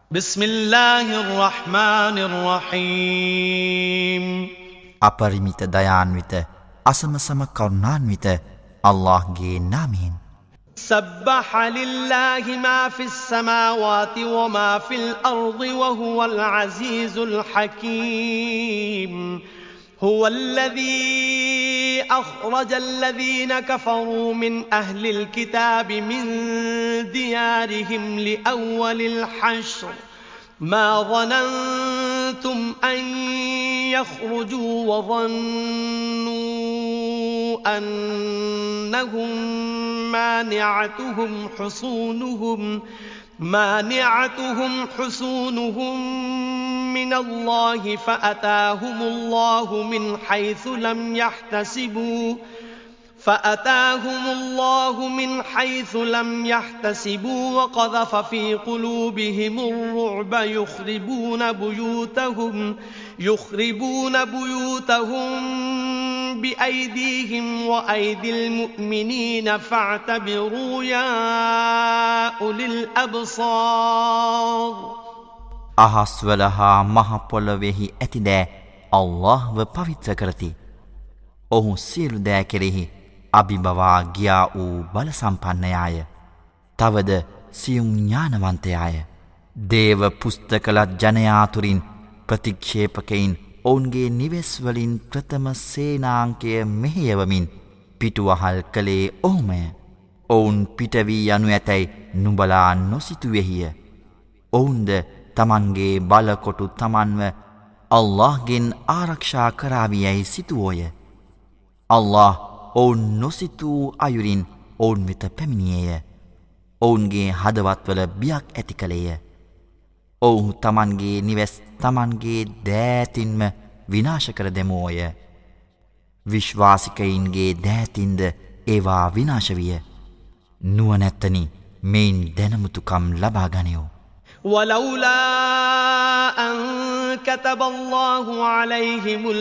بسم الله الرحمن الرحيم අපරිමිත දයාන්විත අසමසම කරුණාන්විත අල්ලාහ්ගේ නාමයෙන් سبح لله ما في السماوات وما في الأرض وهو العزيز الحكيم هو الذي أخرج الذين كفروا من أهل الكتاب من ديارهم لأول الحشر ما ظننتم أن يخرجوا وظنوا أنهم مانعتهم حصونهم من الله فأتاهم الله من حيث لم يحتسبوا وقذف في قلوبهم الرعب يخربون بيوتهم بأيديهم وأيدي المؤمنين فاعتبروا يا أولي الأبصار අහස්වල හා මහ පොළොවෙහි ඇති දෑ අල්ලාහ්ව පවිත්‍ර කරති. ඔහු සියලු දෑ කෙරෙහි අභිබවා ගියා වූ බල සම්පන්නයාය. තවද සියුම් ඥානවන්තයාය. දේව පුස්තකලත් ජනයාතුරින් ප්‍රතික්ෂේපකයින් ඔවුන්ගේ නිවෙස් වලින් ප්‍රථම සේනාංකය මෙහෙයවමින් පිටුවහල් කළේ ඔහුමය. ඔවුන් පිටවී යනු ඇතැයි නුඹලා නොසිතුවේහිය. ඔවුන්ද තමන්ගේ බලකොටු තමන්ව අල්ලාහ්ගෙන් ආරක්ෂා කරාවියයි සිතුවෝය. අල්ලාහ් ඔවුන් නොසිතූ අයුරින් ඔවුන් වෙත පැමිණියේය. ඔවුන්ගේ හදවත්වල බියක් ඇති කළේය. ඔවුහු තමන්ගේ නිවෙස් තමන්ගේ දෑතින්ම විනාශ කර දෙමෝය. විශ්වාසිකයින්ගේ දෑතින්ද ඒවා විනාශ විය. නුවණැත්තනි මෙයින් දැනමුතුකම් ලබා ගනියෝ. ولولا أن كتب الله عليهم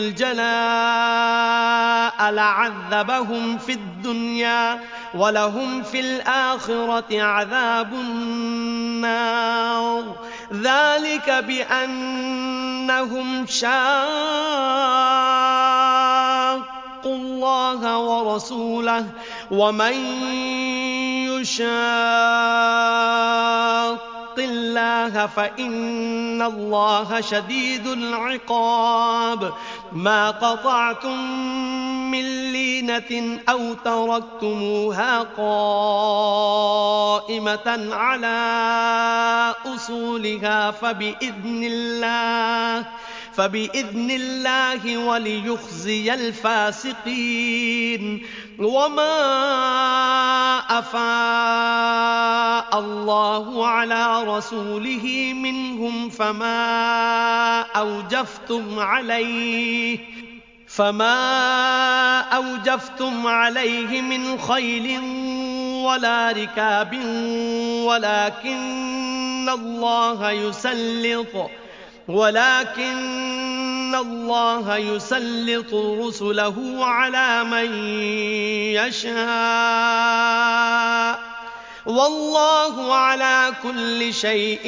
الجلاء لعذبهم في الدنيا ولهم في الآخرة عذاب النار ذلك بأنهم شاقوا الله ورسوله ومن يشاق الله فإن الله شديد العقاب ما قطعتم من لينة أو تركتموها قائمة على أصولها فبإذن الله وليخزي الفاسقين وما أفاء الله على رسوله منهم فما أوجفتم عليه من خيل ولا ركاب ولكن الله يسلط رسله على من يشاء والله على كل شيء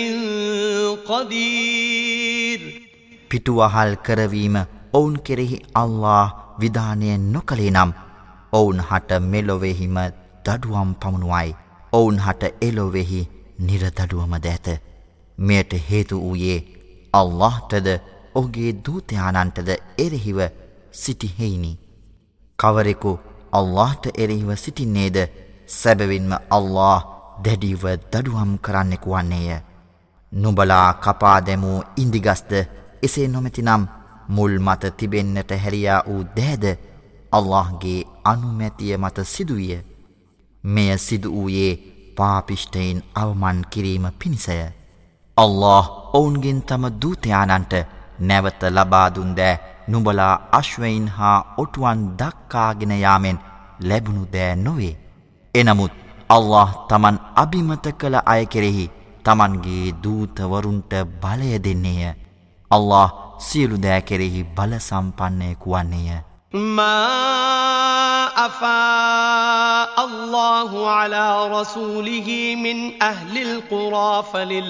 قدير පිටුවහල් කරවීම ඔවුන් කෙරෙහි අල්ලාහ් විධානය නොකළේ නම් ඔවුන් හට මෙලොවෙහිම දඩුවම් පමුණුවයි. ඔවුන් හට එලොවෙහි නිරදඩුවම දැත. මෙයට හේතු වූයේ අල්ලාහ්ටද ඔහුගේ දූතයාණන්ටද එරෙහිව සිටිහෙයිනි. කවරෙකු අල්ලාහ්ට එරෙහිව සිටින්නේද සැබවින්ම අල්ලාහ් දැඩිව දඩුවම් කරන්නෙකු වන්නේය. නුඹලා කපා දැමූ ඉන්දිගස්ද එසේ නොමැතිනම් මුල් මත තිබෙන්නට හැරියා වූ දෑද අල්ලාහ්ගේ අනුමැතිය මත සිදුවිය. මෙය සිදු වූයේ පාපිෂ්ඨයින් අවමන් කිරීම පිණිසය. අල්ලාහ් ඔවුන්ගෙන් තම දූතයාණන්ට නැවත ලබා දුන් දෑ නුඹලා අශ්වයින් හා ඔටුවන් දක්කාගෙන යාමෙන් ලැබුණු දෑ නොවේ. එනමුත් අල්ලාහ් තමන් අබිමත කළ අය කෙරෙහි තමන්ගේ දූතවරුන්ට බලය දෙන්නේය. අල්ලාහ් සියලු දෑ කෙරෙහි බල සම්පන්නයෙකු වන්නේය. ما أفاء الله على رسوله من أهل القرى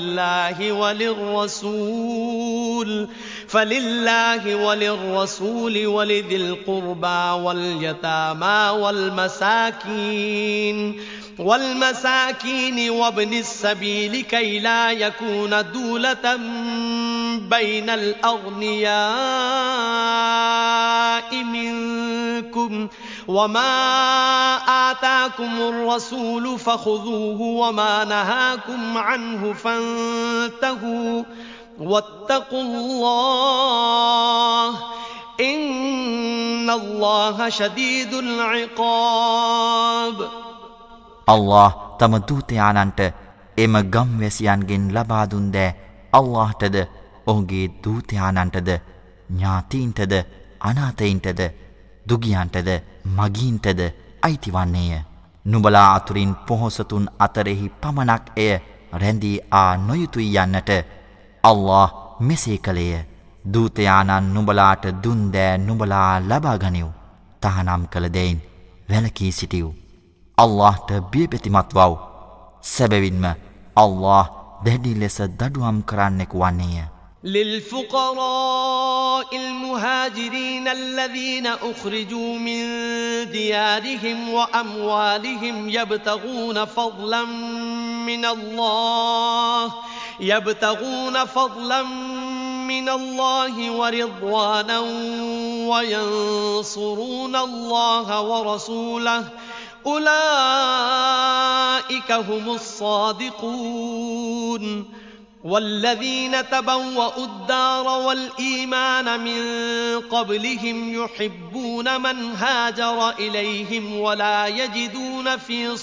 فلله وللرسول ولذي القربى واليتامى والمساكين وابن السبيل كي لا يكون دولة بين الأغنياء منكم وما آتاكم الرسول فخذوه وما نهاكم عنه فانتهوا واتقوا الله إن الله شديد العقاب Allah තම දූතයාණන්ට එම ගම්වැසියන්ගෙන් ලබා දුන් දෑ අල්ලාහටද ඔහුගේ දූතයාණන්ටද ඥාතීන්ටද අනාථයින්ටද දුගියන්ටද මගීන්ටද අයිතිවන්නේය. නුඹලා අතුරින් පොහොසතුන් අතරෙහි පමණක් එය රැඳී නොයුතුයි යන්නට අල්ලාහ් මෙසේ කළේය. දූතයාණන් නුඹලාට දුන් දෑ නුඹලා ලබා ගනිව්. තහනම් කළ දෙයින් වැළකී සිටිව්. අල්ලාහ්ට බියපැතිමත් වව්. සැබවින්ම අල්ලාහ් දැඩි ලෙස දඩුවම් කරන්නෙකු වන්නේය. للفقراء المهاجرين الذين أخرجوا من ديارهم وأموالهم يبتغون فضلا من الله ورضوانا وينصرون الله ورسوله أولئك هم الصادقون والذين تبوأوا الدار والإيمان من قبلهم يحبون من هاجر إليهم ولا يجدون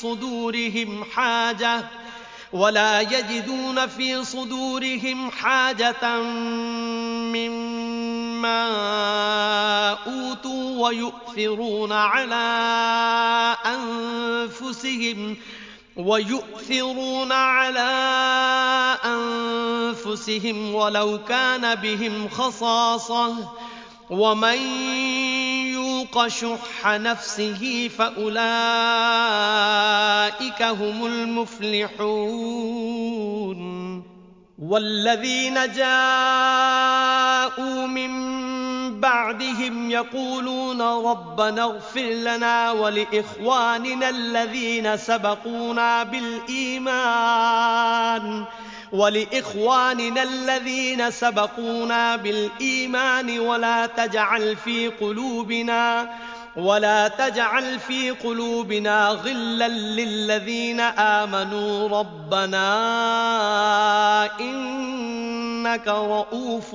في صدورهم حاجة مما أوتوا ويؤثرون على أنفسهم ولو كان بهم خصاصة ومن يوق شح نفسه فأولئك هم المفلحون والذين جاءوا من بعدهم يقولون ربنا اغفر لنا ولإخواننا الذين سبقونا بالإيمان ولا تجعل في قلوبنا غلا للذين آمنوا ربنا إنك رؤوف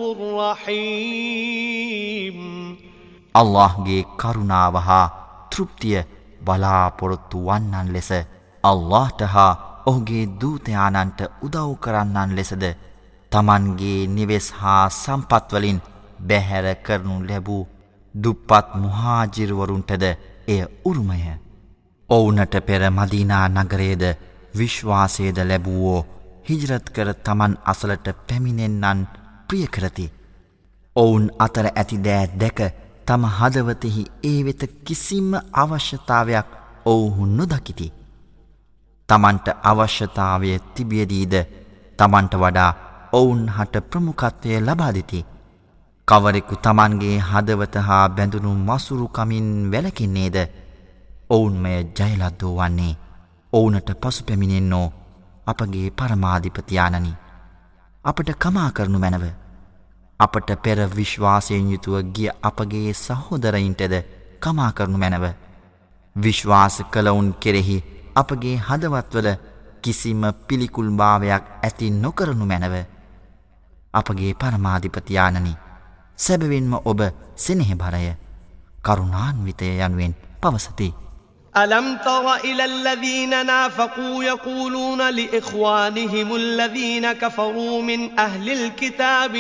رحيم අල්ලාහ්ගේ කරුණාව හා තෘප්තිය බලාපොරොත්තු වන්නන් ලෙස අල්ලාහ්ට හා ඔහුගේ දූතයාණන්ට උදව් කරන්නන් ලෙසද තමන්ගේ නිවෙස් හා සම්පත් වලින් බැහැර කරනු ලැබූ දුප්පත් මුහාජිර්වරුන්ටද එය උරුමය. ඔවුන්ට පෙර මදීනා නගරයේද විශ්වාසයද ලැබුවෝ හිජරත් කර තමන් අසලට පැමිණෙන්නන් ප්‍රිය කරති. ඔවුන් අතර ඇති දෑ දැක තම හදවතෙහි ඒ වෙත කිසිම අවශ්‍යතාවයක් ඔවුහු නොදකිති. තමන්ට අවශ්‍යතාවය තිබියදීද තමන්ට වඩා ඔවුන් හට ප්‍රමුඛත්වය ලබා දෙති. කවරෙකු තමන්ගේ හදවත හා බැඳුණු මසුරුකමින් වැළකෙන්නේද ඔවුන්මය ජයලද්දෝ වන්නේ. ඔවුනට පසු පැමිණෙන්නෝ අපගේ පරමාධිපතියාණනි. අපට කමා කරනු මැනව. අපට පෙර විශ්වාසයෙන් යුතුව ගිය අපගේ සහෝදරයින්ටද කමා කරනු මැනව. විශ්වාස කළවුන් කෙරෙහි අපගේ හදවත්වල කිසිම පිළිකුල් භාවයක් ඇති නොකරනු මැනව. අපගේ පරමාධිපතියාණනි, සැබවින්ම ඔබ සෙනෙහබරය, කරුණාන්විතය යනුවෙන් පවසති. ألم تر إلى الذين نافقوا يقولون لإخوانهم الذين كفروا من أهل الكتاب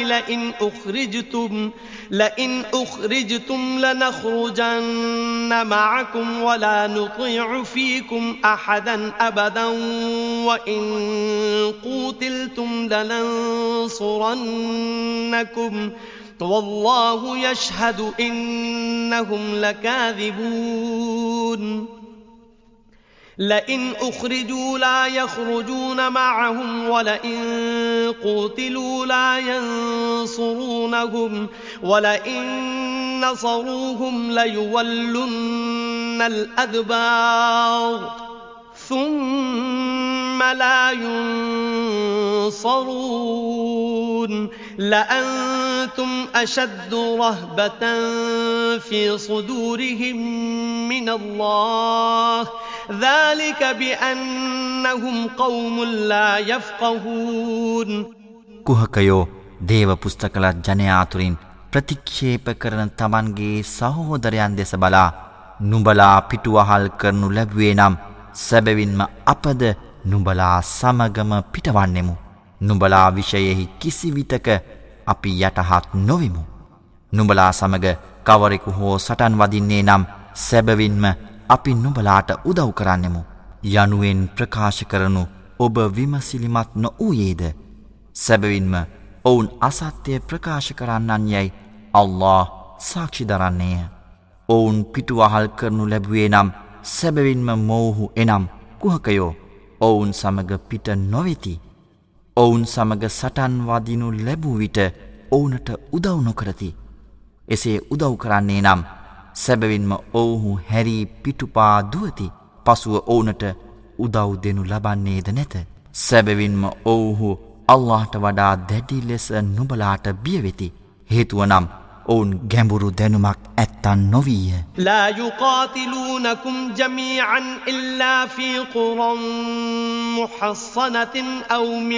لئن أخرجتم لنخرجن معكم ولا نطيع فيكم أحدا أبدا وإن قوتلتم لننصرنكم والله يشهد إنهم لكاذبون لئن أخرجوا لا يخرجون معهم ولئن قوتلوا لا ينصرونهم ولئن نصروهم ليولن الأدبار ثم لا ينصرون لأنتم أشد رهبة في صدورهم من الله ذلك بأنهم قوم لا يفقهون කුහකයෝ දේව පුස්තකලත් ජනයා අතුරින් ප්‍රතික්ෂේප කරන තමන්ගේ සහෝදරයන් දෙස බලා නුඹලා පිටුවහල් කරනු ලැබුවේ නම් සැබවින්ම අපද නුඹලා සමගම පිටවන්නෙමු. නුඹලා විෂයෙහි කිසිවිටක අපි යටහත් නොවිමු. නුඹලා සමග කවරෙකු හෝ සටන් වදින්නේ නම් සැබවින්ම අපි නුඹලාට උදව් කරන්නෙමු. යනුවෙන් ප්‍රකාශ කරනු ඔබ විමසිලිමත් නොවූයේද? සැබවින්ම ඔවුන් අසත්‍ය ප්‍රකාශ කරන්නන් යැයි අල්ලාහ් සාක්ෂි දරන්නේය. ඔවුන් පිටුවහල් කරනු ලැබුවේ නම් සැබවින්ම මොවුහු එනම් කුහකයෝ ඔවුන් සමග පිට නොවෙති. ඔවුන් සමග සටන් වදිනු ලැබූ විට ඔවුනට උදව් නොකරති. එසේ උදව් කරන්නේ නම් සැබවින්ම ඔවුහු හැරී පිටුපා දුවති. පසුව ඔවුනට උදව් දෙනු ලබන්නේද නැත. සැබවින්ම ඔවුහු අල්ලාහට වඩා දැඩි ලෙස නුඹලාට බියවෙති. හේතුව නම් ඔවුන් ගැඹුරු දැනුමක් ඇත්තන් නොවීය. لا يقاتلونكم جميعا إلا في قرى محصنة أو من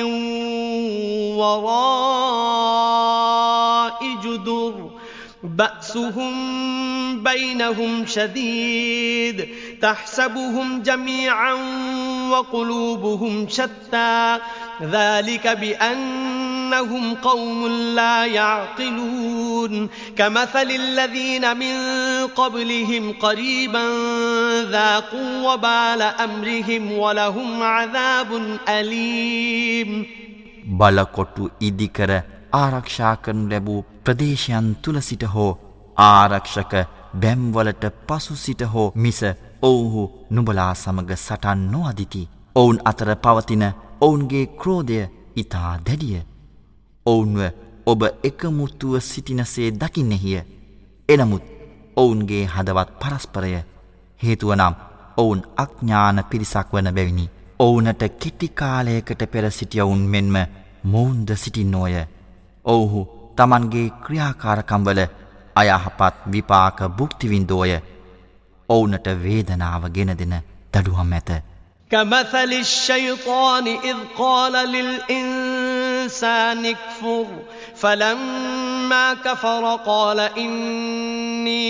وراء جدر بأسهم بينهم شديد تحسبهم جميعا وقلوبهم شتى ذلك بأنهم قوم لا يعقلون كمثل الذين من قبلهم قريبا ذاقوا وبال أمرهم ولهم عذاب أليم බලකොටු ඉදිකර ආරක්ෂා කරනු ලැබූ ප්‍රදේශයන් තුල සිට හෝ ආරක්ෂක බැම්වලට පසු සිට හෝ මිස ඔවුහු නුඹලා සමග සටන් නොඅදිති. ඔවුන් අතර පවතින ඔවුන්ගේ ක්‍රෝධය ඉතා දැඩිය. ඔවුන්ව ඔබ එකමුතුව සිටිනසේ දකින්නෙහිය. එනමුත් ඔවුන්ගේ හදවත් පරස්පරය හේතුව නම් ඔවුන් අඥාන පිරිසක් වන බැවිනි. ඔවුනට කෙටි කාලයකට පෙර සිටියවුන් මෙන්ම මොවුන්ද සිටින්නෝය. ඔවුහු තමන්ගේ ක්‍රියාකාරකම්වල අයහපත් විපාක භුක්තිවින්දෝය. ඔවුනට වේදනාව ගෙන දෙන දඩුවම් ඇත. كمثل الشيطان إذ قال للإنسان اكفر فلما كفر قال إني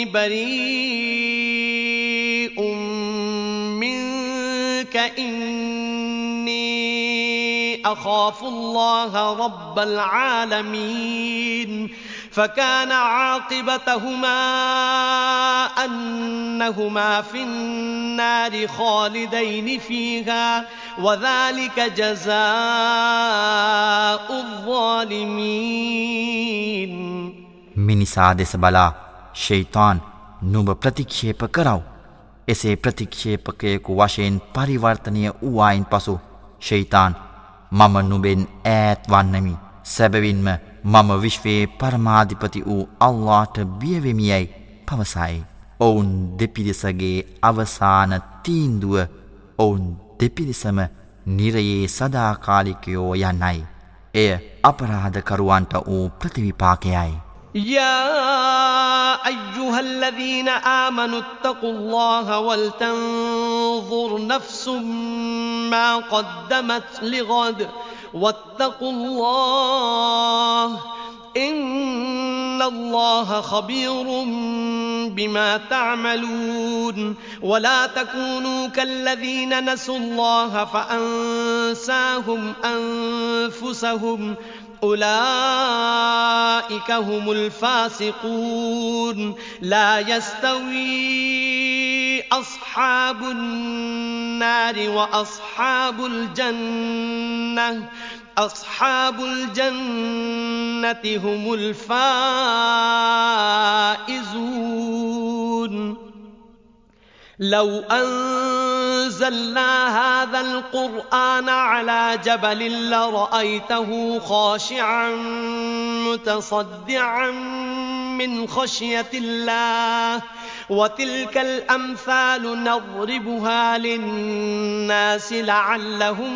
بريء منك إني أخاف الله رب العالمين فكان عاقبتهما أنهما في النار خالدين فيها وذلك جزاء الظالمين මිනිසා දෙස බලා ෂයිතාන් නුඹ ප්‍රතික්ෂේප කරව. එසේ ප්‍රතික්ෂේපකයෙකු වශයෙන් පරිවර්තනය වූවායින් පසු ෂයිතාන් මම නුඹෙන් ඈත් වන්නමි. සැබවින්ම මම විශ්වයේ පරමාධිපති වූ අල්ලාහට බියවෙමියයි පවසයි. ඔවුන් දෙපිරිසගේ අවසාන තීන්දුව ඔවුන් දෙපිරිසම නිරයේ සදාකාලිකයෝ යන්නයි. එය අපරාධකරුවන්ට වූ ප්‍රතිවිපාකයයි. يا أيها الذين آمنوا اتقوا الله ولتنظر نفس ما قدمت لغد واتقوا الله إن الله خبير بما تعملون ولا تكونوا كالذين نسوا الله فأنساهم أنفسهم أولئك هم الفاسقون لا يستوي أصحاب النار وأصحاب الجنة أصحاب الجنة هم الفائزون لو أنزلنا هذا القرآن على جبل لرأيته خاشعا متصدعا من خشية الله وتلك الأمثال نضربها للناس لعلهم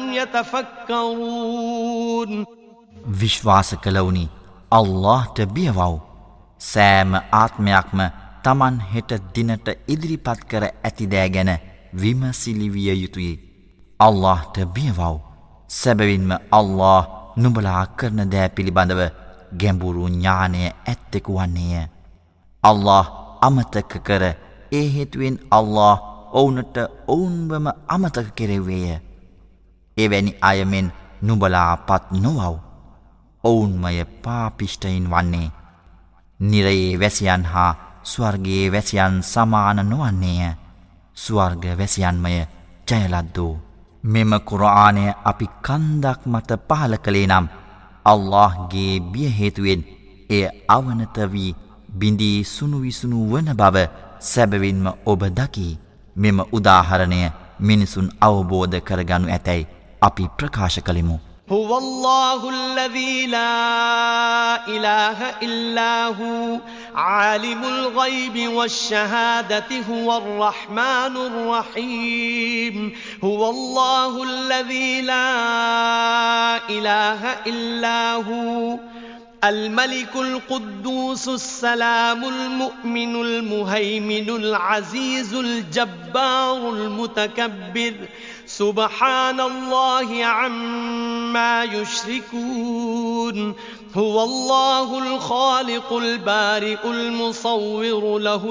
يتفكرون විශ්වාස කළවුනි අල්ලාහ්ට බියවව් සෑම ආත්මයක්ම තමන් හෙට දිනට ඉදිරිපත් කර ඇති දෑ ගැන විමසිලි විය යුතුය අල්ලාහ්ට බියවව් සැබවින්ම අල්ලාහ් නුඹලා කරන දෑ පිළිබඳව ගැඹුරු ඥානය ඇත්තෙකු වන්නේය අල්ලාහ් අමතක කර ඒ හේතුවෙන් අල්ලාහ් ඔවුන්ට ඔවුන්වම අමතක කෙරෙව්වේය එවැනි අයමෙන් නුඹලා පත් නොවව් ඔවුන්මය පාපිෂ්ඨයින් වන්නේ නිරයේ වැසියන් හා ස්වර්ගයේ වැසියන් සමාන නොවන්නේය ස්වර්ග වැසියන්මය ජයලද්දෝ මෙම කුර්ආනය අපි කන්දක් මත පහල කළේ නම් අල්ලාහ්ගේ බිය හේතුවෙන් එය අවනත වී බිඳී සුණුවිසුණු වන බව සැබවින්ම ඔබ දකී මෙම උදාහරණය මිනිසුන් අවබෝධ කරගනු ඇතැයි අපි ප්‍රකාශ කළෙමු هو الله الذي لا إله إلا هو عالم الغيب والشهادة هو الرحمن الرحيم هو الله الذي لا إله إلا هو الملك القدوس السلام المؤمن المهيمن العزيز الجبار المتكبر سبحان الله عما يشركون هو الله الخالق البارئ المصور له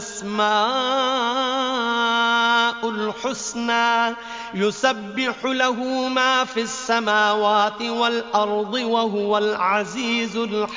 الأسماء الحسنى يسبح له ما في السماوات والأرض وهو العزيز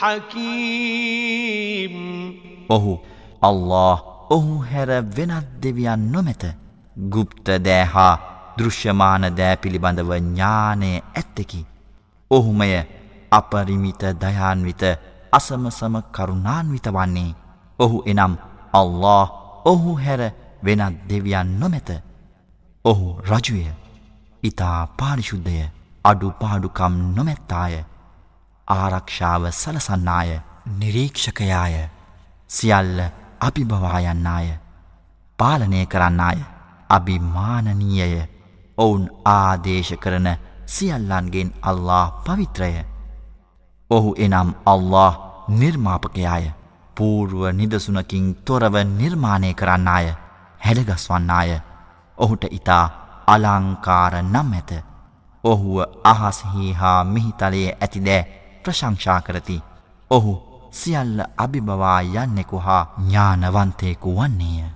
الحكيم ඔහු අල්ලාහ් ඔහු හැර වෙනත් දෙවියන් නොමැත ගුප්ත දෑ හා දෘශ්‍යමාන දෑ පිළිබඳව ඥානය ඇත්තකි ඔහුමය අපරිමිත දයාන්විත අසමසම කරුණාන්විත වන්නේ ඔහු එනම් අල්ලාහ් ඔහු හැර වෙනත් දෙවියන් නොමැත ඔහු රජුය ඉතා පාරිශුද්ධය අඩුපාඩුකම් නොමැත්තාය ආරක්ෂාව සලසන්නාය නිරීක්ෂකයාය සියල්ල අභිබවා යන්නාය පාලනය කරන්නාය අභිමානනීයය ඔවුන් ආදේශ කරන සියල්ලන්ගෙන් අල්ලාහ් පවිත්‍රය ඔහු එනම් අල්ලාහ් නිර්මාපකයාය පූර්ව නිදසුනකින් තොරව නිර්මාණය කරන්නාය හැඩගස්වන්නාය ඔහුට ඉතා අලංකාර නම් ඇත ඔහුව අහස්හි හා මිහිතලයේ ඇතිදෑ ප්‍රශංසා කරති ඔහු සියල්ල අභිබවා යන්නෙකු හා ඥානවන්තයෙකු වන්නේය